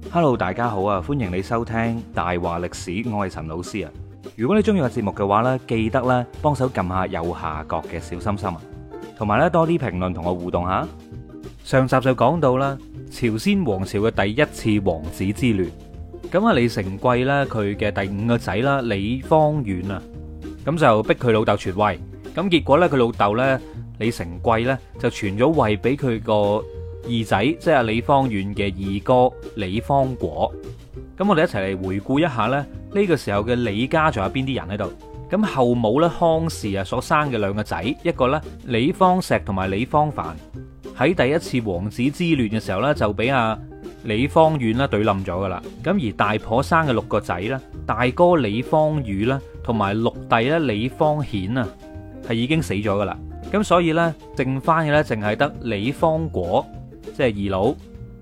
Hello，大家好啊！歡迎你收聽大話歷史，我係陳老師啊。如果你中意個節目嘅話呢，記得咧幫手撳下右下角嘅小心心啊，同埋咧多啲評論同我互動下。上集就講到啦，朝鮮王朝嘅第一次王子之亂。咁啊，李成桂咧佢嘅第5個仔啦，李芳遠啊，咁就逼佢老豆傳位。咁結果咧佢老豆咧李成桂咧就傳咗位俾佢個二仔，即係李芳遠嘅二哥李芳果。咁我哋一齊嚟回顧一下咧呢個時候嘅李家仲有邊啲人喺度。咁後母咧康氏啊所生嘅2個仔，一個咧李芳石同埋李芳凡，喺第一次王子之亂嘅時候咧就俾李芳遠啦懟冧咗噶啦。咁而大婆生嘅6個仔咧，大哥李芳宇啦同埋6弟咧李芳顯啊係已經死咗噶啦。咁所以咧剩翻嘅咧淨係得李芳果，即係二佬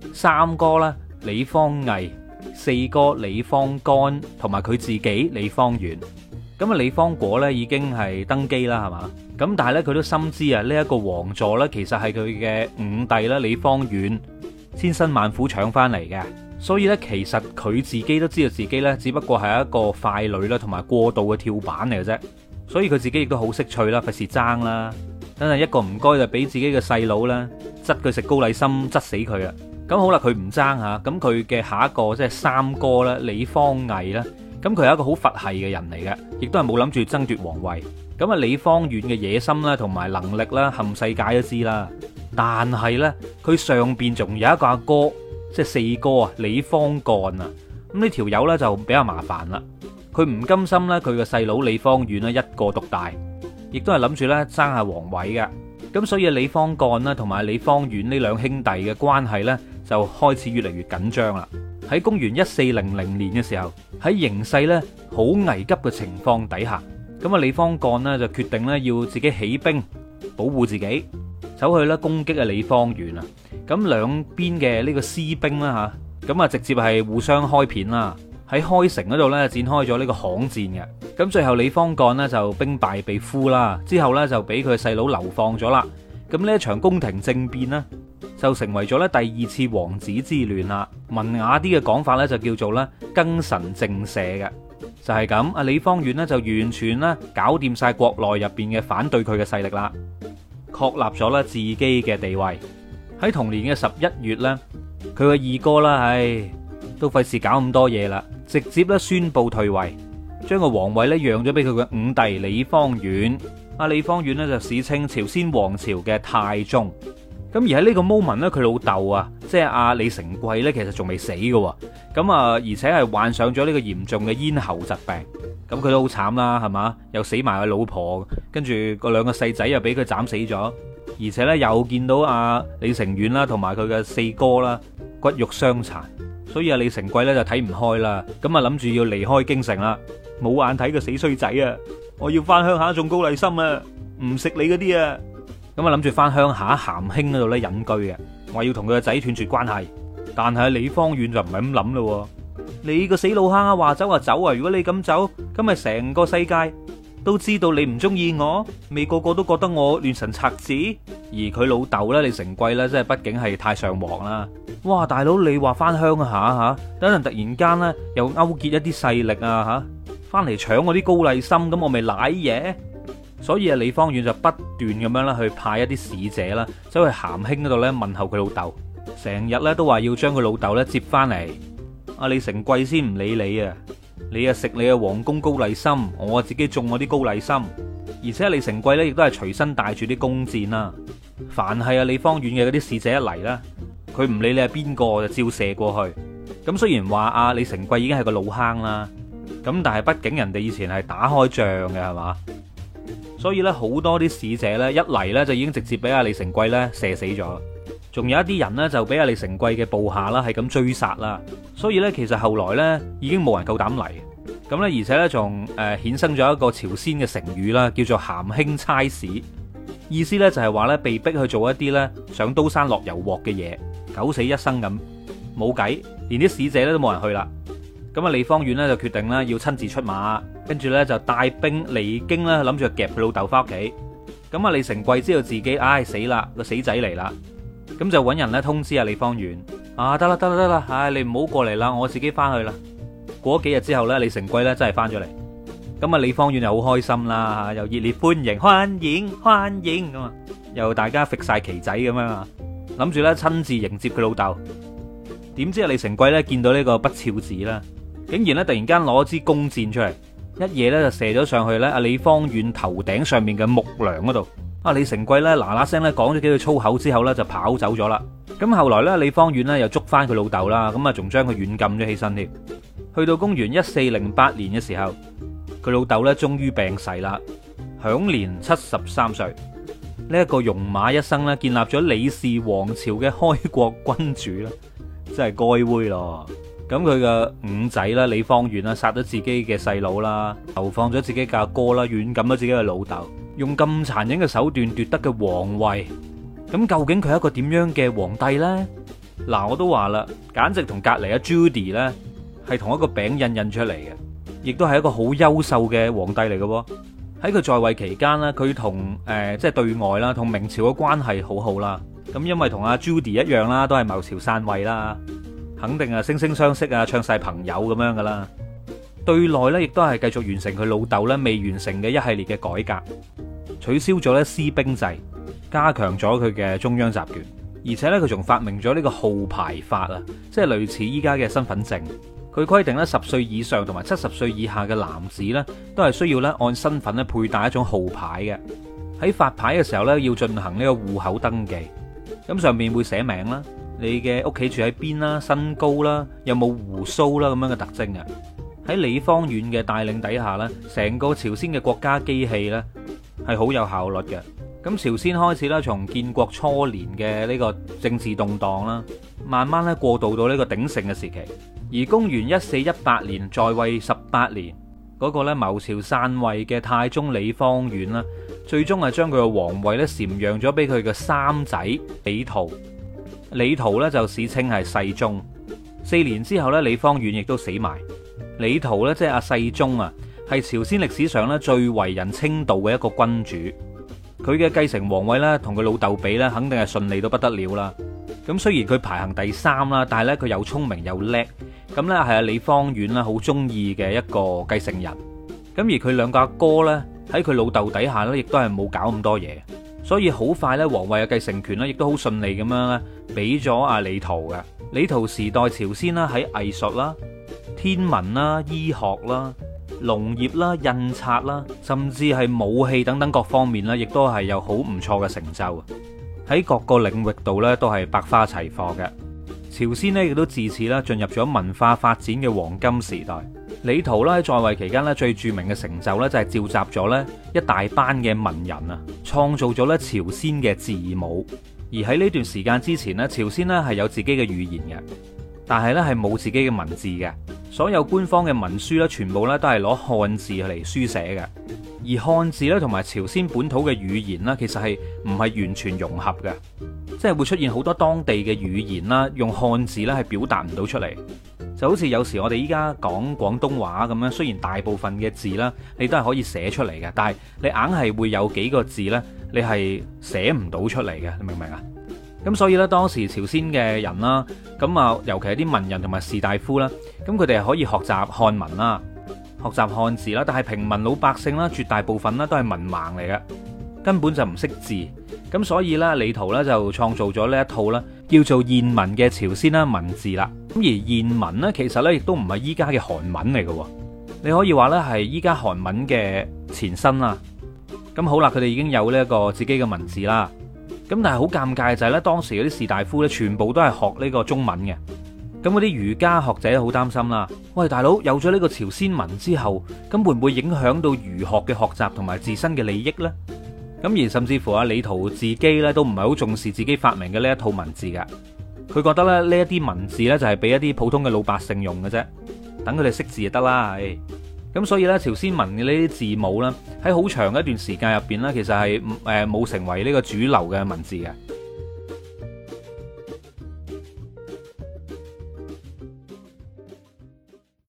，3哥啦李芳毅，4哥李芳干同埋佢自己李芳遠。咁啊李芳果咧已經係登基啦，係嘛？咁但係咧佢都深知啊呢一個王座咧其實係佢嘅5弟啦李芳遠千辛萬苦搶翻嚟嘅，所以咧其實佢自己都知道自己咧只不過係一個傀儡啦，同埋過渡嘅跳板嚟嘅啫。所以佢自己亦都好識趣啦，費事爭啦，等陣一個唔該就俾自己嘅細佬啦，窒佢食高麗參，窒死佢啊！咁好啦，佢唔爭吓，咁佢嘅下一個即係3哥啦，李芳毅啦，咁佢係一個好佛系嘅人嚟嘅，亦都係冇諗住爭奪皇位。咁啊，李芳遠嘅野心啦，同埋能力啦，冚世界都知啦。但係呢，佢上邊仲有一個阿哥，即係4哥啊，李芳幹啊。咁呢條友呢，就比較麻煩啦。佢唔甘心呢，佢嘅細佬李芳遠呢，一個獨大，亦都係諗住呢爭下皇位嘅。咁所以李芳幹啦，同埋李芳遠呢2兄弟嘅關係呢，就開始越嚟越緊張啦。喺公元1400年嘅時候，喺形勢呢好危急嘅情況底下，咁啊李芳幹呢就決定呢要自己起兵保護自己，走去咧攻擊啊李芳遠啊。咁兩邊嘅呢個私兵啦吓，咁啊直接係互相開片啦。喺開城嗰度呢展開咗呢個巷戰嘅。咁最後李芳幹呢就兵敗被俘啦，之後呢就俾佢細佬流放咗啦。咁呢一場宮廷政變呢，就成為咗咧第2次王子之亂啦。文雅啲嘅講法咧就叫做咧庚辰正社嘅，就係咁。阿李芳遠呢就完全咧搞掂晒國內入邊嘅反對佢嘅勢力啦，確立咗咧自己嘅地位。喺同年嘅11月咧，佢個二哥啦，都費事搞咁多嘢啦，直接咧宣布退位，將個皇位咧讓咗俾佢嘅5弟李芳遠。阿李芳遠呢就史稱朝鮮王朝嘅太宗。咁而喺呢個 moment 咧，佢老豆啊，即係阿李成桂咧，其實仲未死嘅。咁啊，而且係患上咗呢個嚴重嘅咽喉疾病。咁佢都好慘啦，係嘛？又死埋佢老婆，跟住個2個細仔又俾佢斬死咗，而且咧又見到阿李成遠啦，同埋佢嘅4哥啦，骨肉相殘。所以阿李成桂咧就睇唔開啦，咁啊諗住要離開京城啦，冇眼睇個死衰仔啊！我要翻鄉下種高麗參啊，唔食你嗰啲啊！咁啊諗住翻鄉下咸興嗰度咧隱居嘅，話要同佢個仔斷絕關係。但係李芳遠就唔係咁諗咯。你個死老坑啊，話走就走啊！如果你咁走，咁咪成個世界都知道你唔中意我，未個個都覺得我亂臣賊子。而佢老豆咧，李成桂咧，即係畢竟係太上皇啦。哇，大佬你話翻鄉下吓，等陣突然間咧又勾結一啲勢力啊吓，翻嚟搶我啲高麗參，咁我咪瀨嘢。所以啊，李芳遠就不斷咁樣啦，去派一啲使者啦，走去咸興嗰度咧問候佢老豆，成日咧都話要將佢老豆咧接翻嚟。阿李成桂先唔理你啊，你啊食你嘅皇宮高麗參，我啊自己種我啲高麗參。而且李成桂咧亦都係隨身帶住啲弓箭啦，凡係阿李芳遠嘅嗰啲使者一嚟啦，佢唔理你係邊個就照射過去。咁雖然話阿李成桂已經係個老坑啦，咁但係畢竟人哋以前係打開仗嘅係嘛。所以咧，好多啲使者咧一嚟咧就已經直接俾阿李成桂咧射死咗，仲有一啲人呢，就俾阿李成桂嘅部下啦係咁追殺啦。所以咧，其實後來咧已經冇人夠膽嚟。咁咧，而且咧仲衍生咗一個朝鮮嘅成語啦，叫做咸興差使，意思咧就係話咧被逼去做一啲咧上刀山落油鑊嘅嘢，九死一生咁，冇計，連啲使者咧都冇人去啦。咁啊，李芳遠咧就決定咧要親自出馬，跟住咧就帶兵離京啦，諗住夾佢老豆翻屋企。咁啊，李成桂知道自己死啦，個死仔嚟啦，咁就揾人咧通知阿李芳遠， 得啦得啦得啦，唉，你唔好過嚟啦，我自己翻去啦。過咗幾日之後呢，李成桂呢真係翻咗嚟。咁啊，李芳遠就好開心啦，又熱烈歡迎歡迎咁啊，又大家揈晒旗仔咁樣啊，諗住咧親自迎接佢老豆。點知啊，李成桂咧見到呢個不肖子啦，竟然咧突然間攞支弓箭出嚟，一嘢咧就射咗上去咧阿李芳遠頭頂上面嘅木樑嗰度。啊，李成桂咧嗱嗱聲咧講咗幾句粗口之後咧就跑走咗啦。咁後來咧李芳遠咧又捉翻佢老豆啦，咁啊仲將佢軟禁咗起身添。去到公元1408年嘅時候，佢老豆咧終於病逝啦，享年73歲。呢一個戎馬一生咧，建立咗李氏王朝嘅開國君主啦，真係該煨咯。咁佢嘅五仔啦，李芳遠啦，殺咗自己嘅細佬啦，投放咗自己嘅阿哥啦，軟禁咗自己嘅老豆，用咁殘忍嘅手段奪得嘅皇位。咁究竟佢係一個點樣嘅皇帝呢？嗱，我都話啦，簡直同隔籬阿 Judy 咧係同一個餅印出嚟嘅，亦都係一個好優秀嘅皇帝嚟嘅。喺佢在位期間呢，佢同即係對外啦，同明朝嘅關係好好啦。咁因為同阿 Judy 一樣啦，都係謀朝篡位啦，肯定啊惺惺相惜啊，唱晒朋友咁樣噶啦。對內呢，亦都係繼續完成佢老豆呢未完成嘅一系列嘅改革，取消咗呢私兵制，加強咗佢嘅中央集權，而且呢，佢仲發明咗呢個號牌法啊，即係類似依家嘅身份證。佢規定咧10歲以上同埋70歲以下嘅男子咧，都係需要咧按身份咧佩戴一種號牌嘅。喺發牌嘅時候咧，要進行呢個戶口登記。咁上面會寫名啦，你嘅屋企住喺邊啦，身高啦，有冇鬍鬚啦咁樣嘅特徵嘅。喺李芳遠嘅帶領底下咧，成個朝鮮嘅國家機器咧係好有效率嘅。咁朝鮮開始啦，從建國初年嘅呢個政治動盪啦，慢慢咧過渡到呢個鼎盛嘅時期。而公元1418年在位18年嗰個咧謀朝篡位嘅太宗李芳遠啦，最終係將佢嘅皇位咧禪讓咗俾佢嘅三仔李圖。李圖咧就史稱係世宗。4年之後咧，李芳遠亦都死埋。李圖咧即係阿世宗啊，係朝鮮歷史上咧最為人稱道嘅一個君主。佢嘅繼承皇位咧同佢老豆比咧，肯定係順利到不得了啦。咁雖然佢排行第3啦，但係咧佢又聰明又叻。咁咧係阿李芳遠啦，好中意嘅一個繼承人。咁而佢兩個阿哥咧喺佢老豆底下咧，亦都係冇搞咁多嘢，所以好快咧皇位嘅繼承權咧，亦都好順利咁樣咧俾咗阿李圖嘅。李圖時代朝鮮啦，喺藝術啦、天文啦、醫學啦、農業啦、印刷啦，甚至係武器等等各方面咧，亦都係有好唔錯嘅成就。喺各個領域度咧都係百花齊放嘅。朝鮮呢亦都自此啦進入咗文化發展嘅黃金時代。李圖咧喺在位期間咧最著名嘅成就咧就係召集咗咧一大班嘅文人啊，創造咗咧朝鮮嘅字母。而喺呢段時間之前咧，朝鮮咧係有自己嘅語言嘅，但係咧係冇自己嘅文字嘅。所有官方嘅文書咧全部咧都係攞漢字嚟書寫嘅。而漢字咧同埋朝鮮本土嘅語言啦，其實係唔係完全融合嘅，即係會出現好多當地嘅語言啦，用漢字咧係表達唔到出嚟。就好似有時我哋依家講廣東話咁樣，雖然大部分嘅字啦你都係可以寫出嚟嘅，但係你硬係會有幾個字咧你係寫唔到出嚟嘅，你明唔明啊？咁所以咧當時朝鮮嘅人啦，咁啊尤其係啲文人同埋士大夫啦，咁佢哋係可以學習漢文啦，學習漢字啦，但係平民老百姓啦，絕大部分啦都係文盲嚟嘅，根本就唔識字。咁所以咧，李圖咧就創造咗呢一套啦，叫做諺文嘅朝鮮啦文字啦。咁而諺文咧，其實咧亦都唔係依家嘅韓文嚟嘅，你可以話咧係依家韓文嘅前身啦。咁好啦，佢哋已經有呢一個自己嘅文字啦。咁但係好尷尬就係咧，當時嗰啲士大夫咧，全部都係學呢個中文嘅。咁嗰啲儒家學者好擔心啦。喂，大佬，有咗呢個朝鮮文之後，咁會唔會影響到儒學嘅學習同埋自身嘅利益呢？咁而甚至乎阿李圖自己咧都唔係好重視自己發明嘅呢一套文字噶。佢覺得咧呢一啲文字咧就係俾一啲普通嘅老百姓用嘅啫，等佢哋識字就得啦。咁所以咧朝鮮文嘅呢啲字母咧喺好長嘅一段時間入邊咧，其實係冇成為呢個主流嘅文字嘅。